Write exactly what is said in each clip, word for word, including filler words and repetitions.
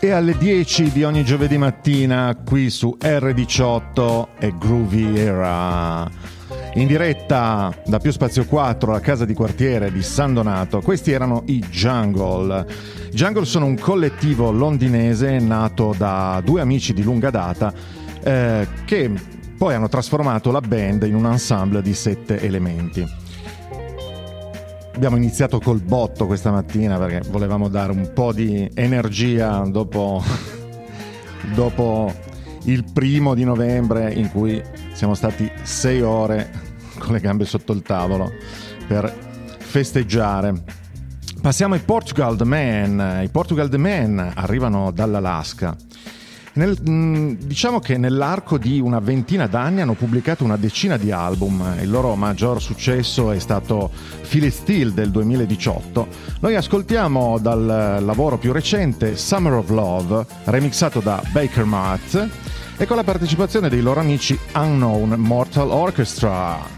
E alle dieci di ogni giovedì mattina qui su erre diciotto è Groovy Era. In diretta da Più Spazio quattro, la casa di quartiere di San Donato. Questi erano i Jungle. I Jungle sono un collettivo londinese nato da due amici di lunga data eh, che poi hanno trasformato la band in un ensemble di sette elementi. Abbiamo iniziato col botto questa mattina perché volevamo dare un po' di energia dopo, dopo il primo di novembre in cui siamo stati sei ore con le gambe sotto il tavolo per festeggiare. Passiamo ai Portugal The Man. I Portugal The Man arrivano dall'Alaska. Nel, diciamo che nell'arco di una ventina d'anni hanno pubblicato una decina di album. Il loro maggior successo è stato Feel It Still del duemiladiciotto. Noi ascoltiamo dal lavoro più recente Summer of Love, remixato da Baker Matt e con la partecipazione dei loro amici Unknown Mortal Orchestra.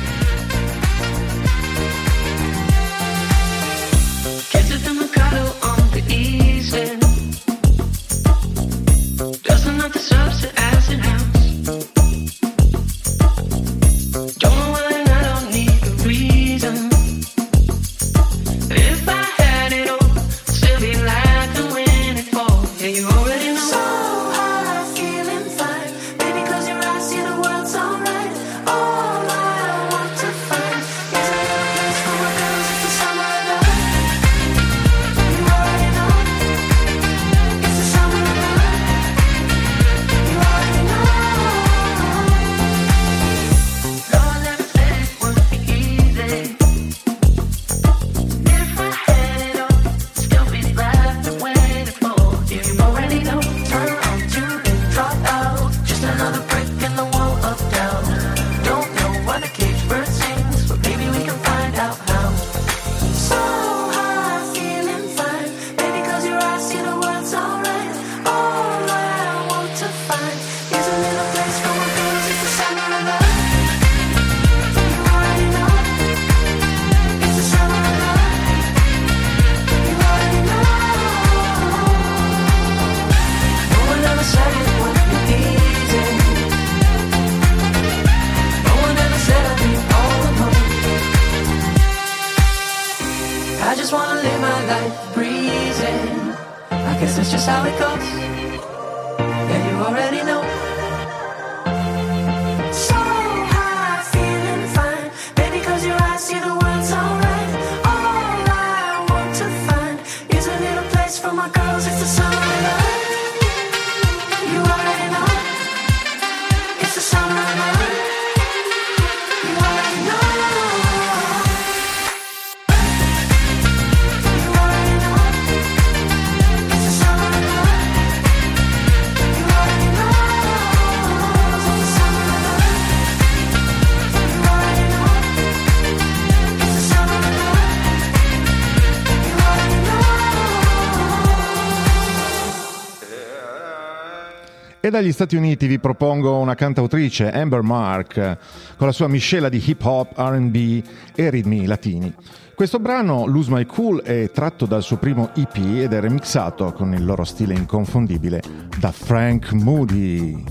E dagli Stati Uniti vi propongo una cantautrice, Amber Mark, con la sua miscela di hip hop, R and B e ritmi latini. Questo brano, Lose My Cool, è tratto dal suo primo E P ed è remixato con il loro stile inconfondibile da Frank Moody.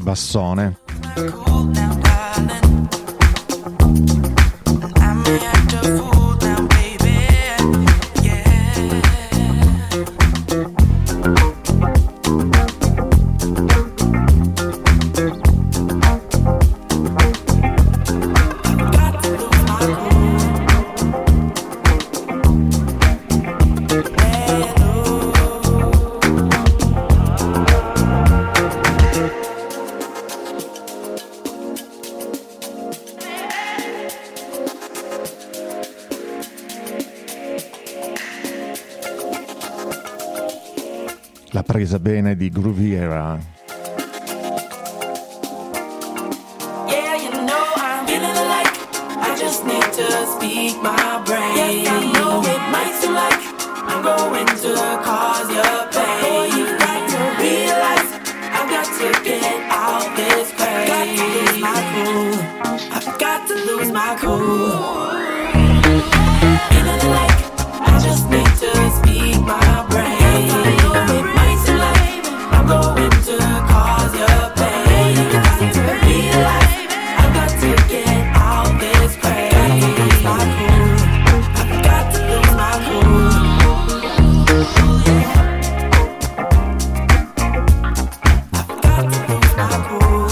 bassone. La presa bene di Groovy Era. Yeah, you know I'm feeling like I just need to speak my brain. Yes, I know it might seem like I'm going to cause you pain. Boy, you've got to realize I've got to get out this pain. Got to lose my cool. I've got to lose my cool. Feeling like I just need to speak my brain. I'm going to cause you pain. You got to realize I've got to get out this pain. Got to lose my cool. I've got to lose my cool. I've got to lose my cool.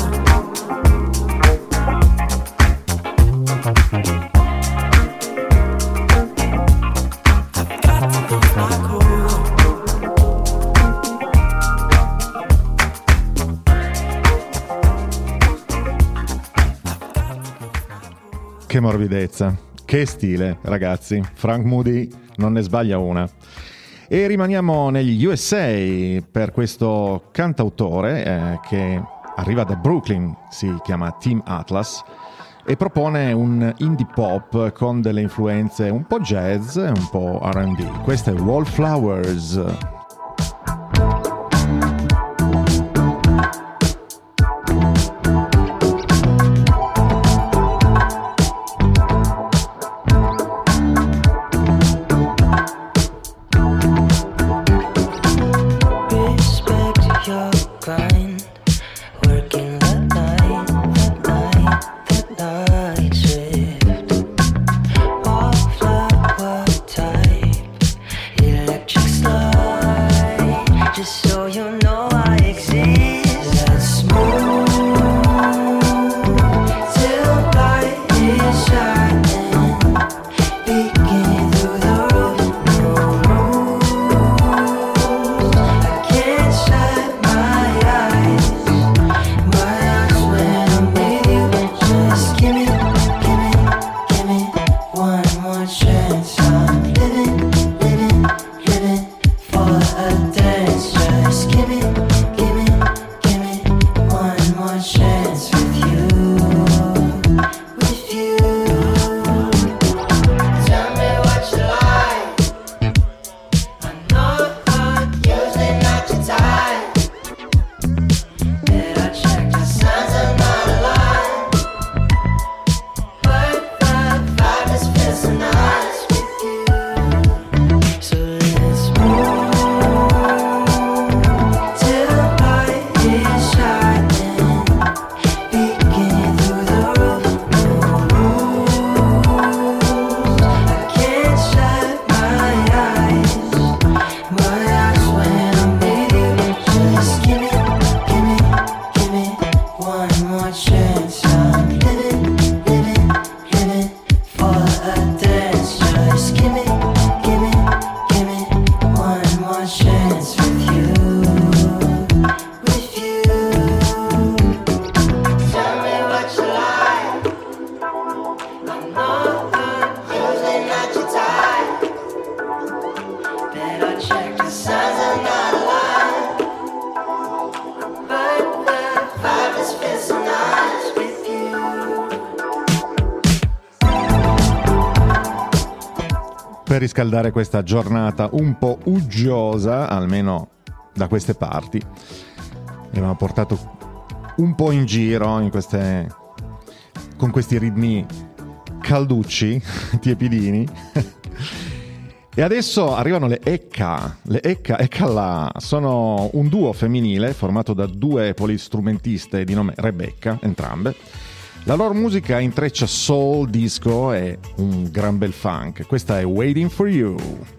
I've got to lose my cool. Che morbidezza, che stile, ragazzi. Frank Moody non ne sbaglia una. E rimaniamo negli U S A per questo cantautore eh, che arriva da Brooklyn, si chiama Tim Atlas, e propone un indie pop con delle influenze un po' jazz e un po' R and B. Questo è Wallflowers. Per riscaldare questa giornata un po' uggiosa, almeno da queste parti, abbiamo portato un po' in giro in queste, con questi ritmi calducci, tiepidini. E adesso arrivano le Ecca, le Ecca, Eccala, sono un duo femminile formato da due polistrumentiste di nome Rebecca, entrambe. La loro musica intreccia soul, disco e un gran bel funk. Questa è Waiting for You.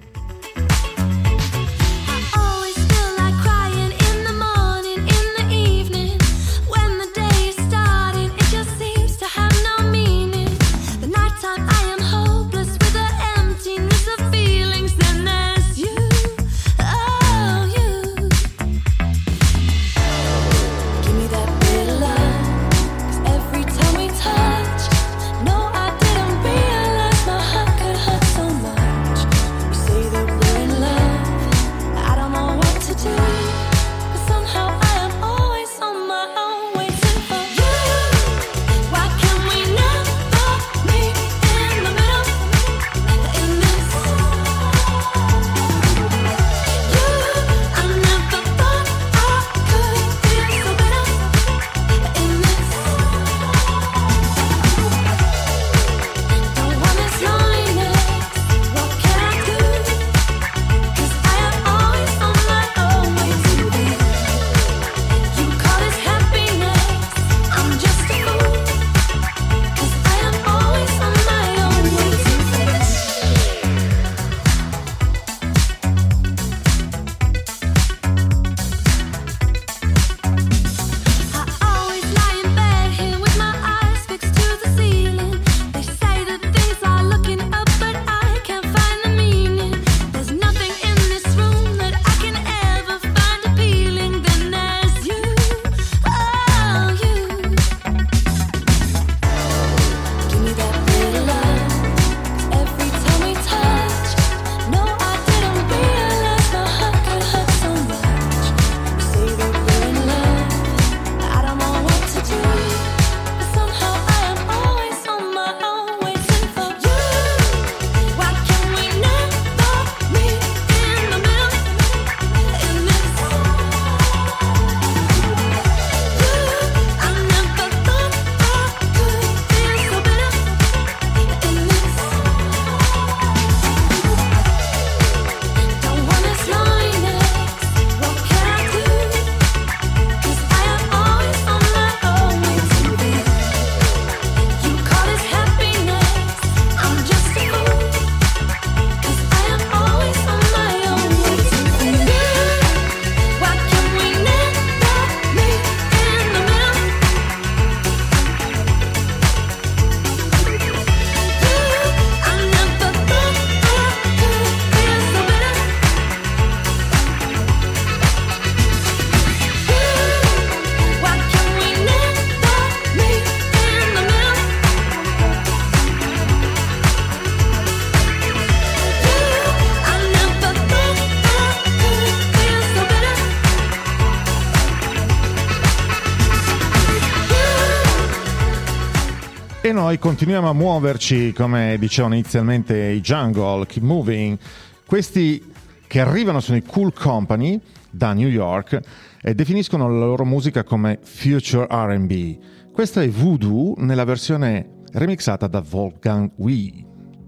E noi continuiamo a muoverci, come dicevano inizialmente i Jungle, Keep Moving. Questi che arrivano sono i Cool Company da New York e definiscono la loro musica come Future R and B. Questa è Voodoo nella versione remixata da Wolfgang Wee.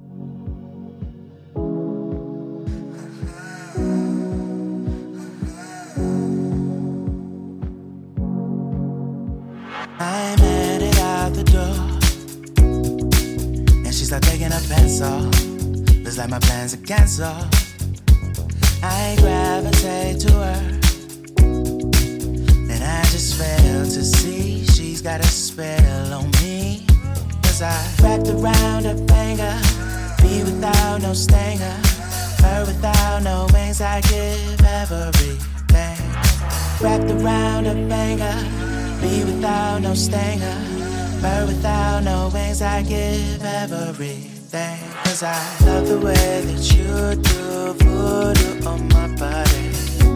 I'm headed out the door, and she started taking a pencil. Looks like my plans are canceled. I gravitate to her, and I just fail to see she's got a spell on me. Cause I wrapped around her finger, me without no stinger, her without no wings. I give everything. Wrapped around her finger, me without no stinger, her without no wings. I give everything. Cause I love the way that you do voodoo on my body.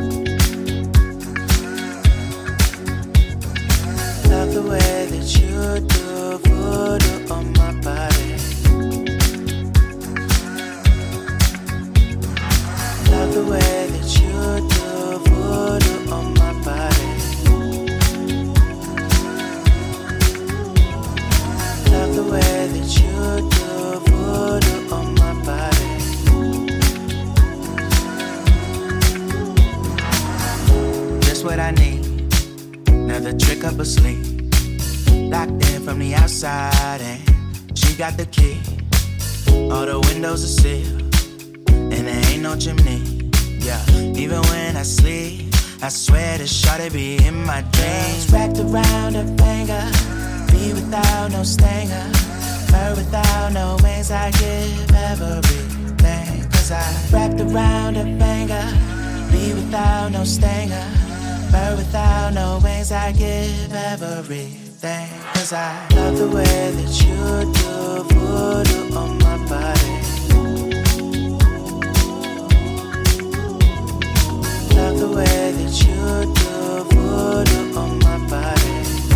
Love the way that you do voodoo on my body. Love the way that you do voodoo on my body. Love the way that you do voodoo on my body. but sleep. Locked in from the outside and she got the key. All the windows are sealed and there ain't no chimney. Yeah, even when I sleep, I swear this shawty be in my dreams. Wrapped around her finger, be without no stinger, fur without no wings. I give everything, cause I wrapped around her finger, be without no stinger, fur without no wings. I give everything, cause I love the way that you do voodoo on my body. Love the way that you do voodoo on my body.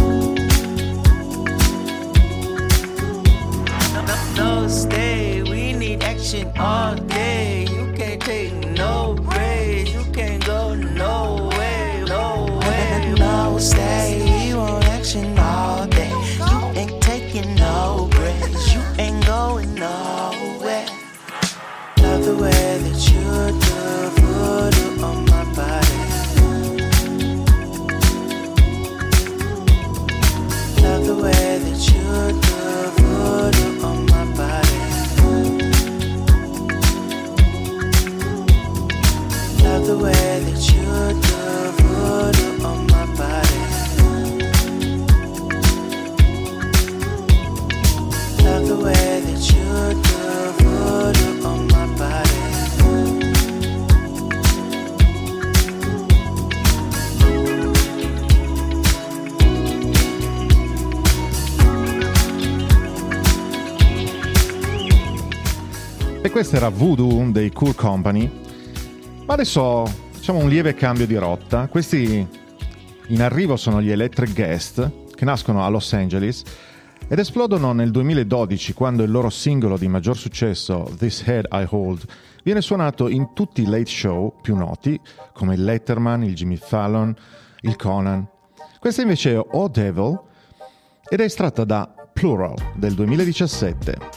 No, no, no, stay, we need action all day. You can't take no breaks, you can't go no way, no way. No, stay, we want action all day. You ain't taking no breaks, you ain't going nowhere. Love the way that you do voodoo on my body. Love the way that you do voodoo on my body. Love the way that you do voodoo on my body. Love the way that you do voodoo on my body. E questo era Voodoo dei Cool Company. Ma adesso facciamo un lieve cambio di rotta. Questi in arrivo sono gli Electric Guest, che nascono a Los Angeles ed esplodono nel duemiladodici, quando il loro singolo di maggior successo, This Head I Hold, viene suonato in tutti i late show più noti, come il Letterman, il Jimmy Fallon, il Conan. Questa invece è Oh Devil ed è estratta da Plural del duemiladiciassette.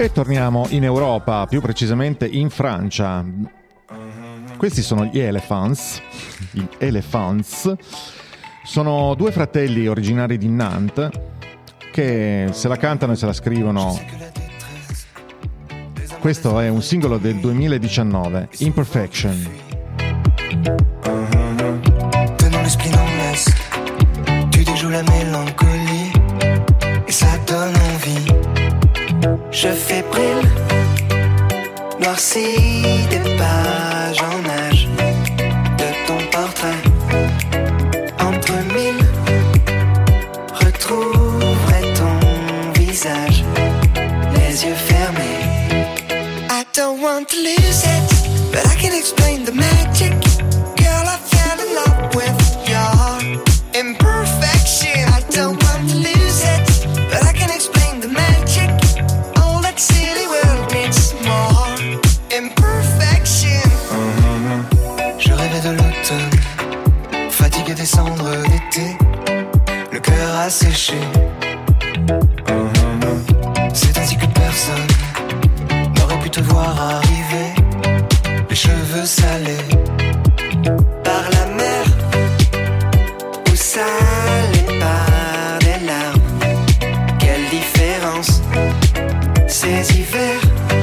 E torniamo in Europa, più precisamente in Francia. Questi sono gli Elephants. Gli Elephants sono due fratelli originari di Nantes che se la cantano e se la scrivono. Questo è un singolo del duemiladiciannove, Imperfection. Tenant l'esprit dans l'est, tu déjoues la mélancolie et ça donne envie. Je fais brille, noirci des pages en âge de ton portrait. Entre mille, retrouverai ton visage, les yeux fermés. I don't want to lose it, but I can explain the magic. Girl, I fell in love with your imperfection. I don't want to lose it, but I can explain the magic. All that silly world needs more imperfection. Mm-hmm. Je rêvais de l'automne, fatigué des cendres d'été, le cœur a séché. Mm-hmm. C'est ainsi que personne n'aurait pu te voir arriver, les cheveux salés par la mer ou salés par des larmes. Quelle différence, ces hivers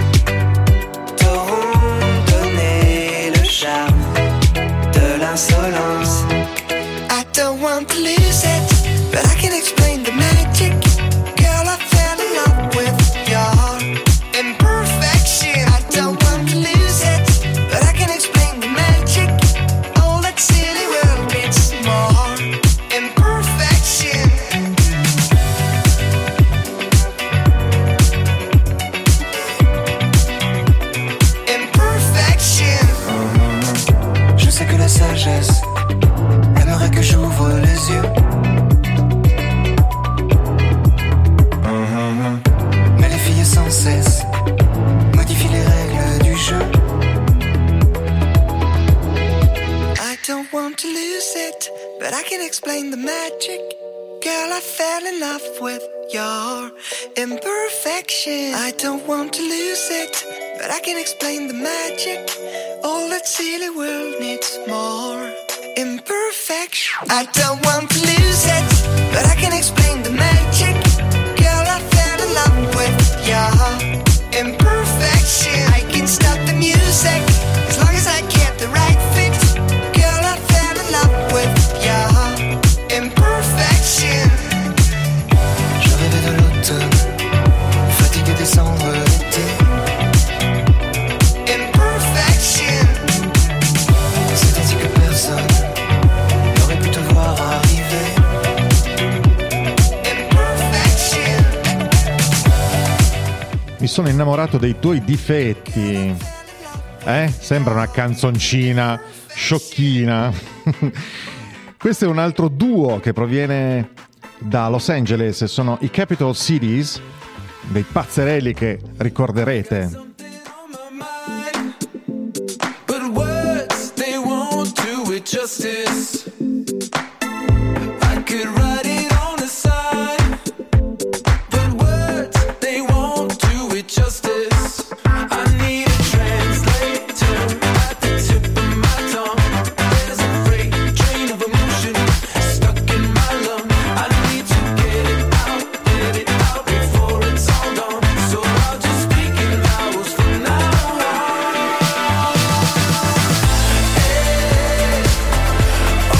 t'auront donné le charme de l'insolence. I don't want to lose it, but I can explain the magic. Girl, I fell in love with your imperfection. I don't want to lose it, but I can explain the magic. All that silly world needs more imperfection. Imperfection. Je sais que la sagesse aimerait que j'ouvre les yeux. Mais les filles sans cesse modifient les règles du jeu. I don't want to lose it, but I can explain the magic. Girl, I fell in love with your imperfection. I don't want to lose it, but I can explain the magic. All that silly world needs more imperfection. I don't want to lose it, but I can explain the magic. Girl, I fell in love with your imperfection. I can stop the music as long as I get the right fit. Girl, I fell in love with your imperfection. Je rêvais de l'automne, fatigué des cendres d'été. Imperfection. C'est ainsi que personne n'aurait pu te voir arriver. Imperfection. Mi sono innamorato dei tuoi difetti. Eh? Sembra una canzoncina sciocchina. Questo è un altro duo che proviene da Los Angeles, sono i Capital Cities, dei pazzerelli che ricorderete. But words, they won't do it justice. I could write it on the side, but words, they won't do it justice. I need a translator at the tip of my tongue. There's a freight train of emotion stuck in my lung. I need to get it out, get it out before it's all gone. So I'll just speak in hours from now on. Hey,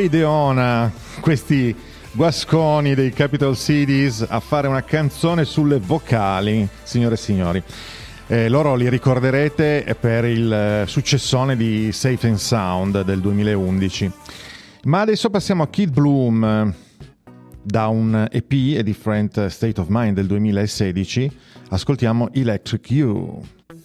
ideona questi guasconi dei Capital Cities a fare una canzone sulle vocali, signore e signori. Eh, loro li ricorderete per il eh, successone di Safe and Sound del duemilaundici. Ma adesso passiamo a Kid Bloom, da un E P, A Different State of Mind del duemilasedici. Ascoltiamo Electric You.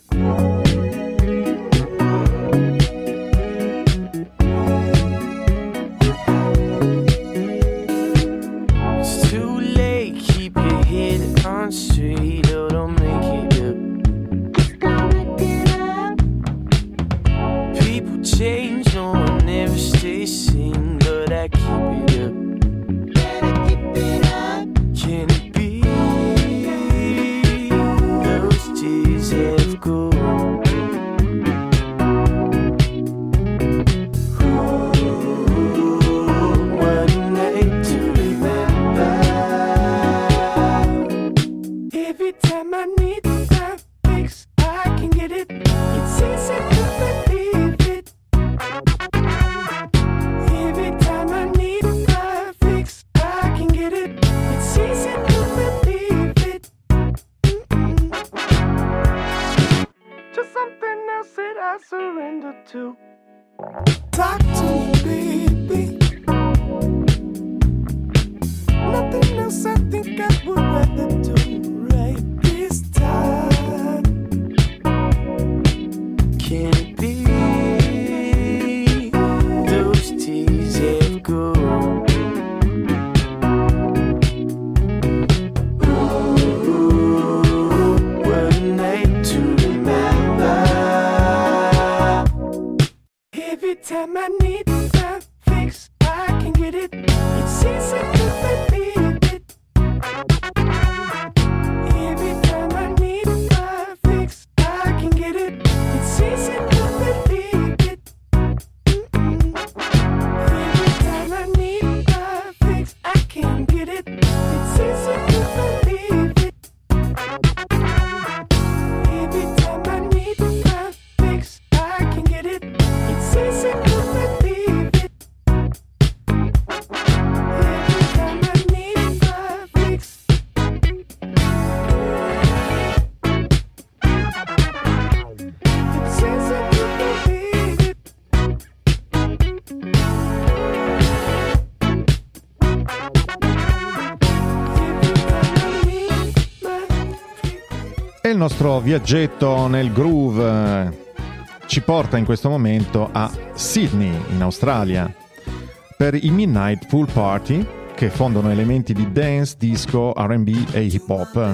Il nostro viaggetto nel groove ci porta in questo momento a Sydney, in Australia, per i Midnight Pool Party, che fondano elementi di dance, disco, R and B e hip hop.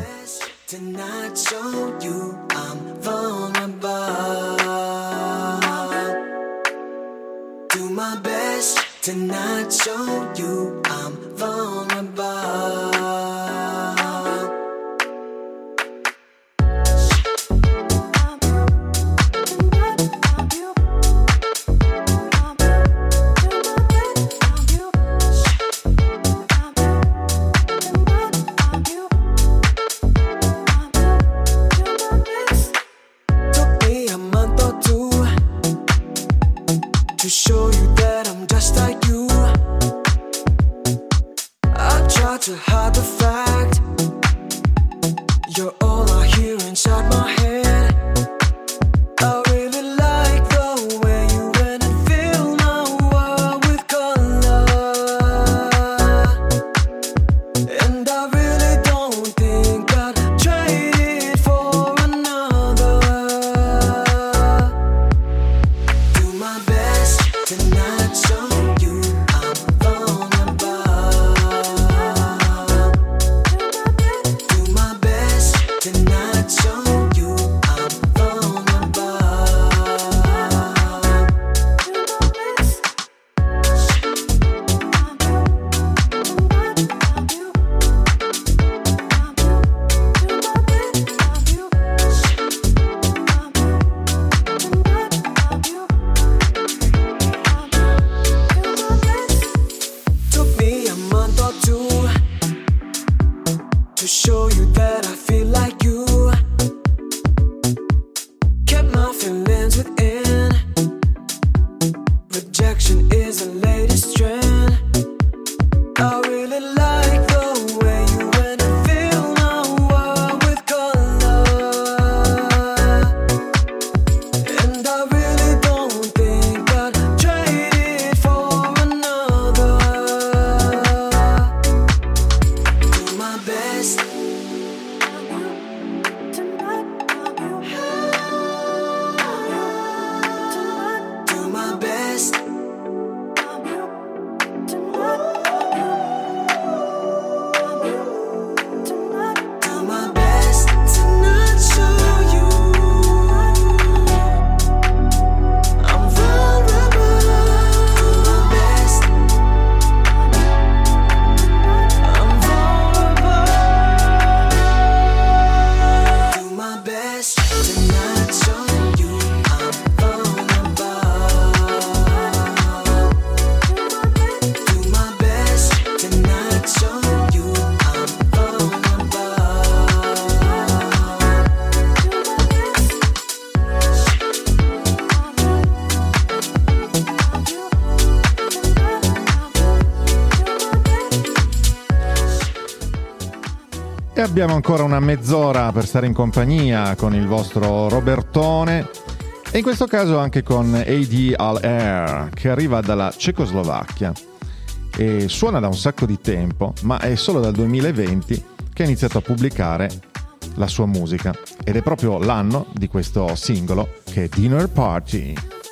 Rejection is the latest trend. E abbiamo ancora una mezz'ora per stare in compagnia con il vostro Robertone e in questo caso anche con A D Al Air, che arriva dalla Cecoslovacchia e suona da un sacco di tempo, ma è solo dal duemilaventi che ha iniziato a pubblicare la sua musica ed è proprio l'anno di questo singolo che è Dinner Party.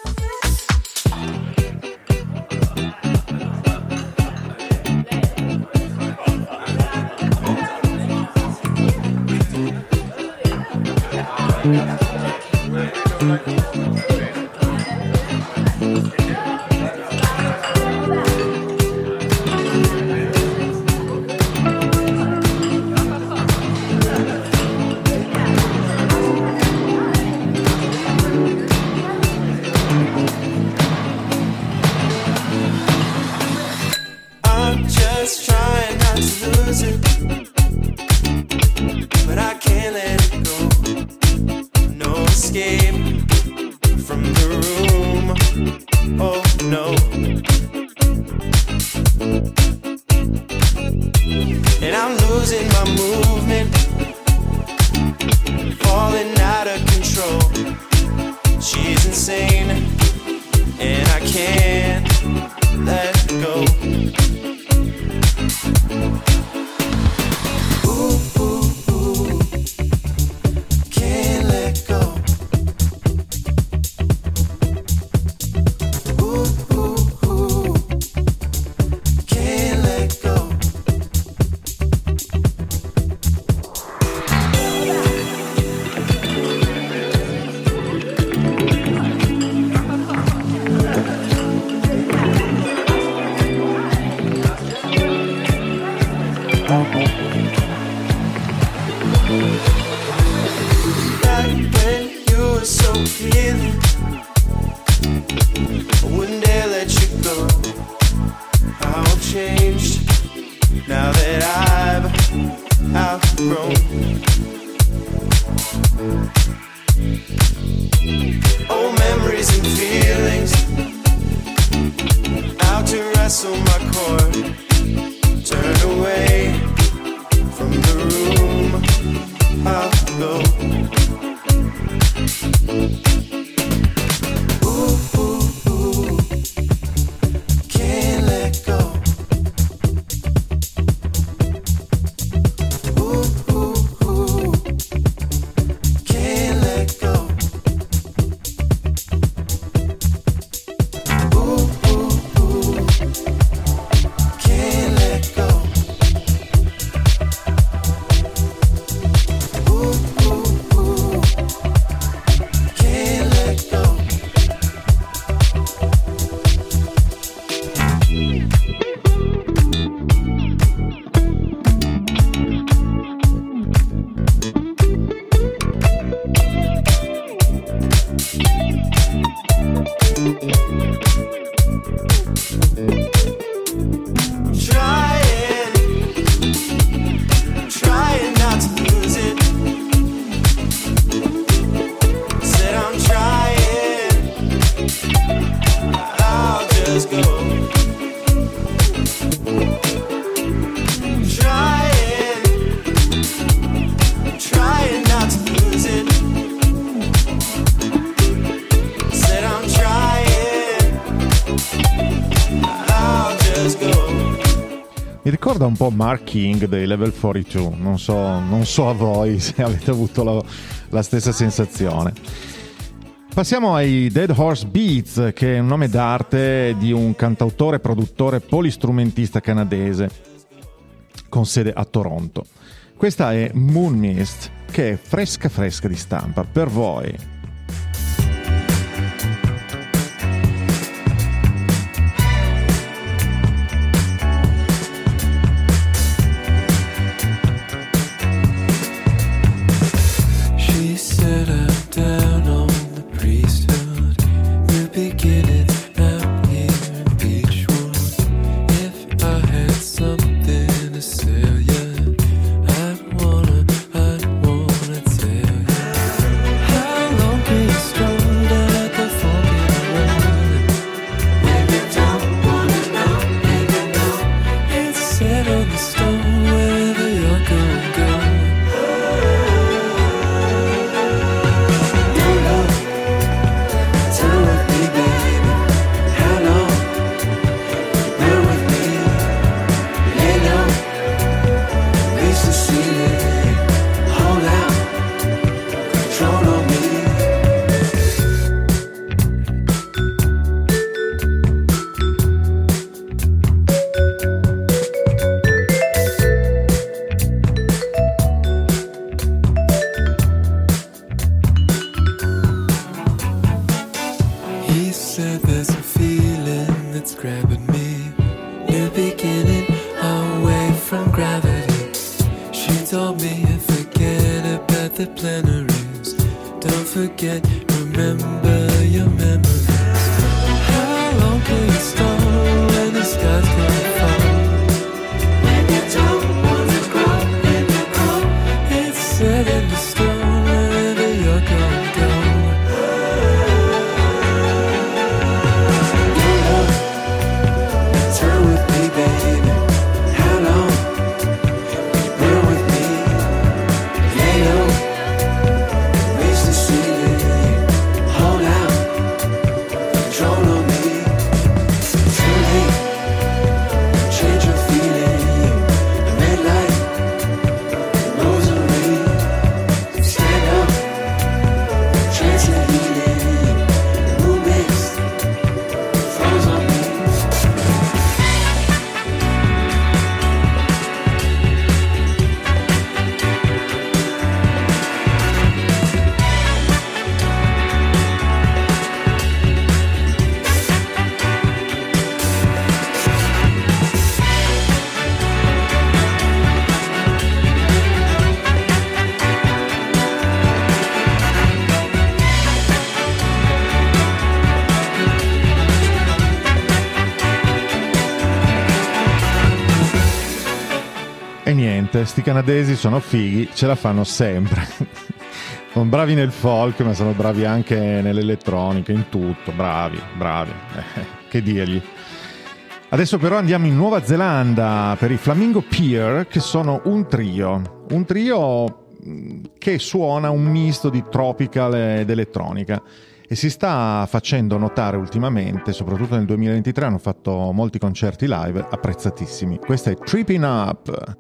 Mi ricorda un po' Mark King dei Level quarantadue, non so, non so a voi se avete avuto la, la stessa sensazione. Passiamo ai Dead Horse Beats, che è un nome d'arte di un cantautore, produttore, polistrumentista canadese con sede a Toronto. Questa è Moon Mist, che è fresca fresca di stampa per voi. Set on the stone wherever you're gonna go. gravity. She told me forget about the plenaries. Don't forget, remember your memories. How long can you stall when the sky's gonna fall? When you don't wanna grow, when you grow, it's set in the stone wherever you're gonna go. Turn with me, baby. How long? Burn with me. Lay low. Reach the ceiling. Hold out. Control on me. Too late. Change your feeling. A red light. Rosary. Stand up. Chance of healing. Moon mixed. Froze on me. E niente, sti canadesi sono fighi, ce la fanno sempre. Sono bravi nel folk, ma sono bravi anche nell'elettronica, in tutto. Bravi, bravi. Eh, che dirgli. Adesso però andiamo in Nuova Zelanda per i Flamingo Pier, che sono un trio. Un trio mh, che suona un misto di tropical ed elettronica. E si sta facendo notare ultimamente, soprattutto nel duemilaventitré, hanno fatto molti concerti live apprezzatissimi. Questa è Tripping Up.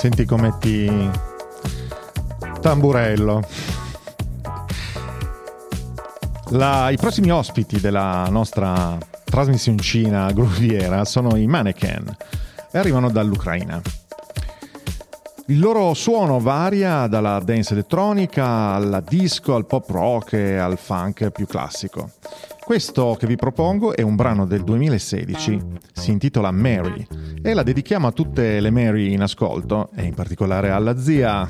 Senti come ti tamburello. La, I prossimi ospiti della nostra trasmissioncina grooviera sono i Mannequin e arrivano dall'Ucraina. Il loro suono varia dalla dance elettronica alla disco, al pop rock e al funk più classico. Questo che vi propongo è un brano del duemilasedici, si intitola Mary e la dedichiamo a tutte le Mary in ascolto e in particolare alla zia.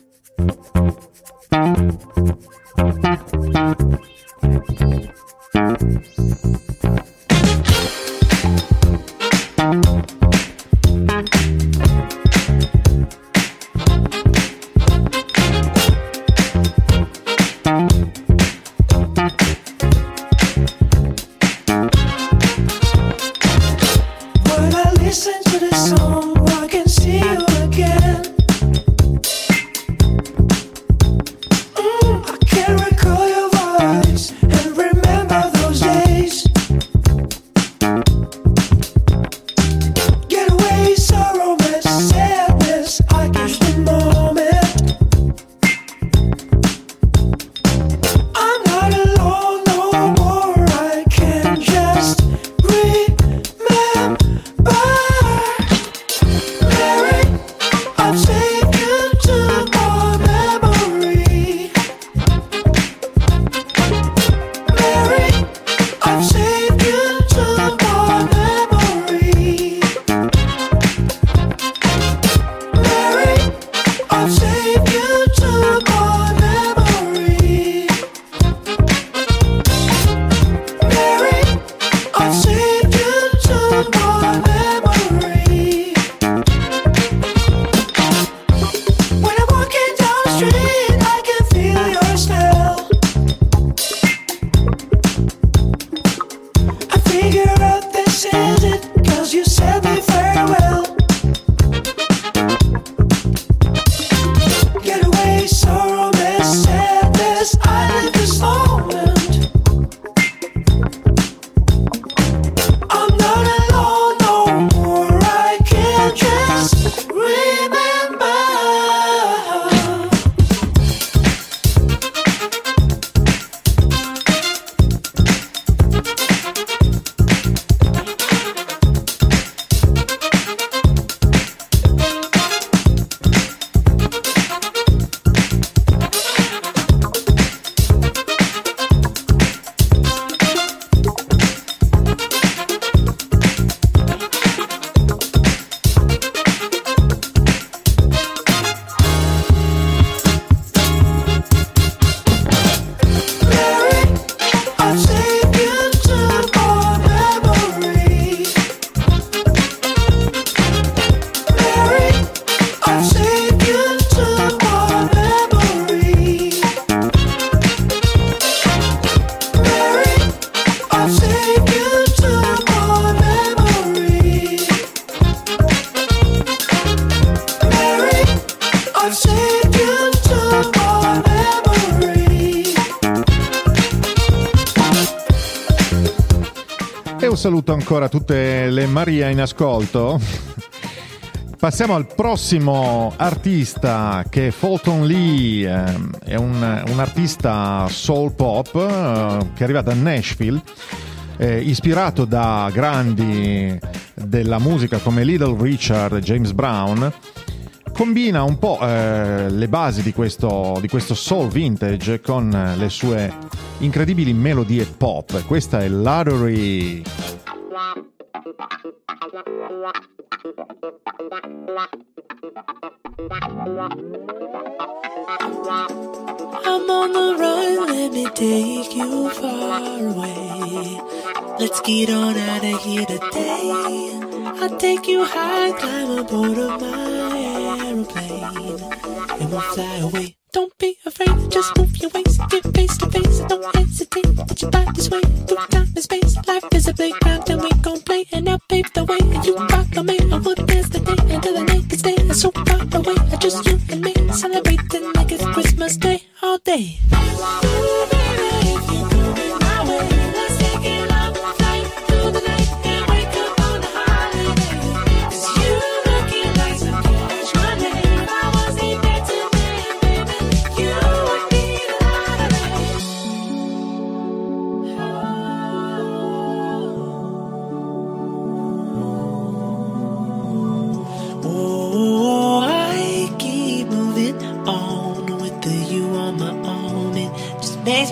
Saluto ancora tutte le Maria in ascolto. Passiamo al prossimo artista, che è Fulton Lee, è un, un artista soul pop che arriva da Nashville, eh, ispirato da grandi della musica come Little Richard e James Brown. Combina un po' eh, le basi di questo, di questo soul vintage con le sue incredibili melodie pop. Questa è Lottery. I'm on the run, let me take you far away. Let's get on out of here today. I'll take you high, climb aboard of my aeroplane, and we'll fly away. Don't be afraid, just move your waist, get face to face, don't hesitate, put your body sway through time and space. Life is a playground and we gon' play, and I'll pave the way, and you follow me. I would dance the day until the night can stay so far away. Just you and me, celebrating like it's Christmas Day, all day. Cause you looking like some cash money.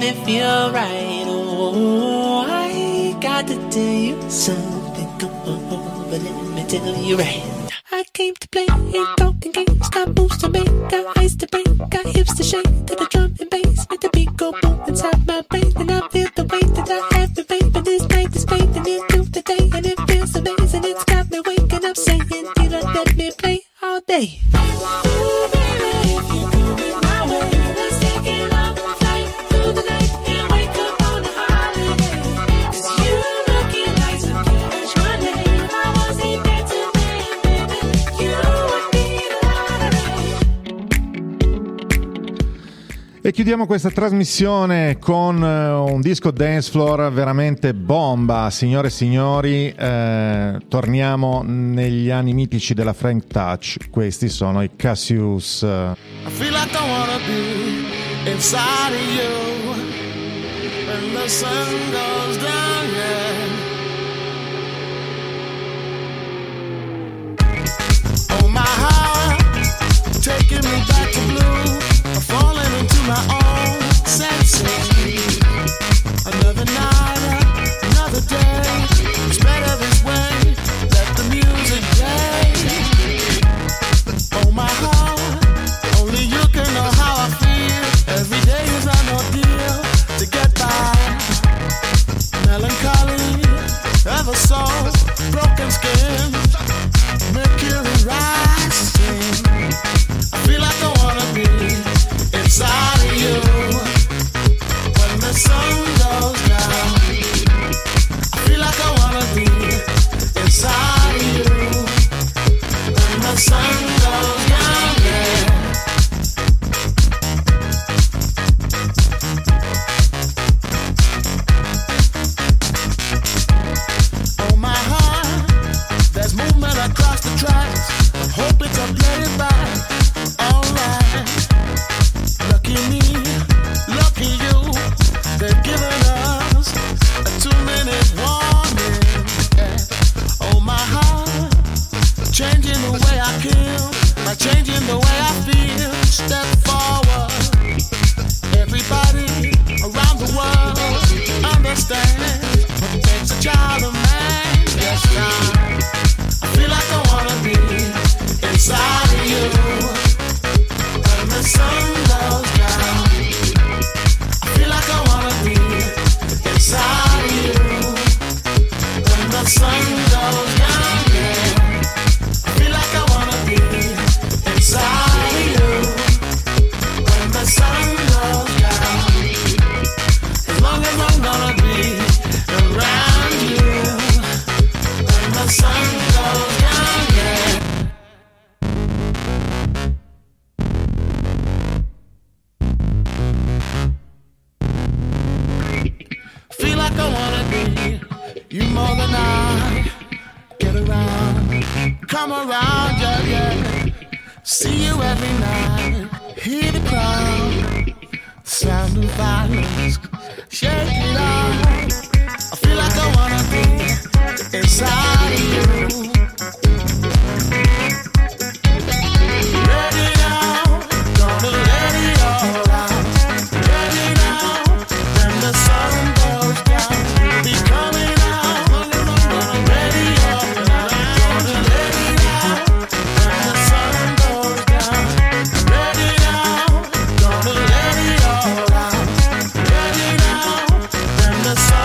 me feel right. Oh, I got to tell you something. Come on, but let me tell you right. I came to play, ain't talking games. Got moves to make, got ice to break, got hips to shake to the drum and bass. Make the beat go boom inside my brain, and I feel the weight that I have to pay. But this night is fading into the day, and it feels amazing. It's got me waking up saying, "Dealer, let me play all day." Ooh, baby, if you're coming my way, let's take it on a flight through the night and wake up on a holiday. 'Cause you looking like some cash money. If I wasn't there tonight, baby, you would be the lottery. E chiudiamo questa trasmissione con eh, un disco dance floor veramente bomba, signore e signori. Eh, torniamo negli anni mitici della Frank Touch. Questi sono i Cassius. I feel like I wanna be inside of you when the sun goes down, yeah. Oh my heart, taking me back to blue. I'm falling into my own senses. Another night, another day. It's better this way. Let the music play. Oh my heart, only you can know how I feel. Every day is an ordeal to get by. Melancholy, ever so broken skin, mercury rising. I feel like I wanna be inside of you when the sun goes down. I feel like I wanna be inside of you when the sun goes down, yeah. Oh my heart, there's movement across the tracks. Hope it's a play it back. Alright. Lucky me, lucky you. They've given us a two-minute warning. Yeah. Oh my heart, changing the way I kill, by changing the way I feel. Step forward. Everybody around the world understand what makes a child a man. Yes, I, I feel like I wanna be inside of you when the sun goes down. I feel like I wanna be inside of you when the sun goes down, yeah. I feel like I wanna be inside of you when the sun goes down. As long as I'm gonna be around you when the sun goes down, yeah. Feel like I wanna be you more than I. Get around, come around, yeah, yeah. See you every night, hear the crowd, sound of violence, shake it out. I feel like I wanna be inside of you. Ready now, gonna let it all out. Ready now, when the sun goes down, we'll be coming out. Ready up now, gonna let it out. When the sun goes down, ready now, gonna let it all out. Ready now, when the sun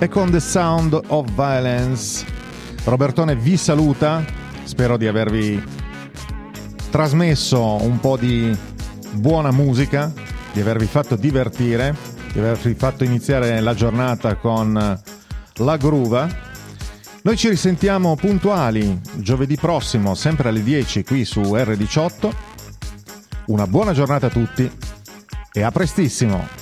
e con The Sound of Violence. Robertone vi saluta, spero di avervi trasmesso un po' di buona musica, di avervi fatto divertire, di avervi fatto iniziare la giornata con la groova. Noi ci risentiamo puntuali giovedì prossimo, sempre alle dieci qui su erre diciotto. Una buona giornata a tutti e a prestissimo!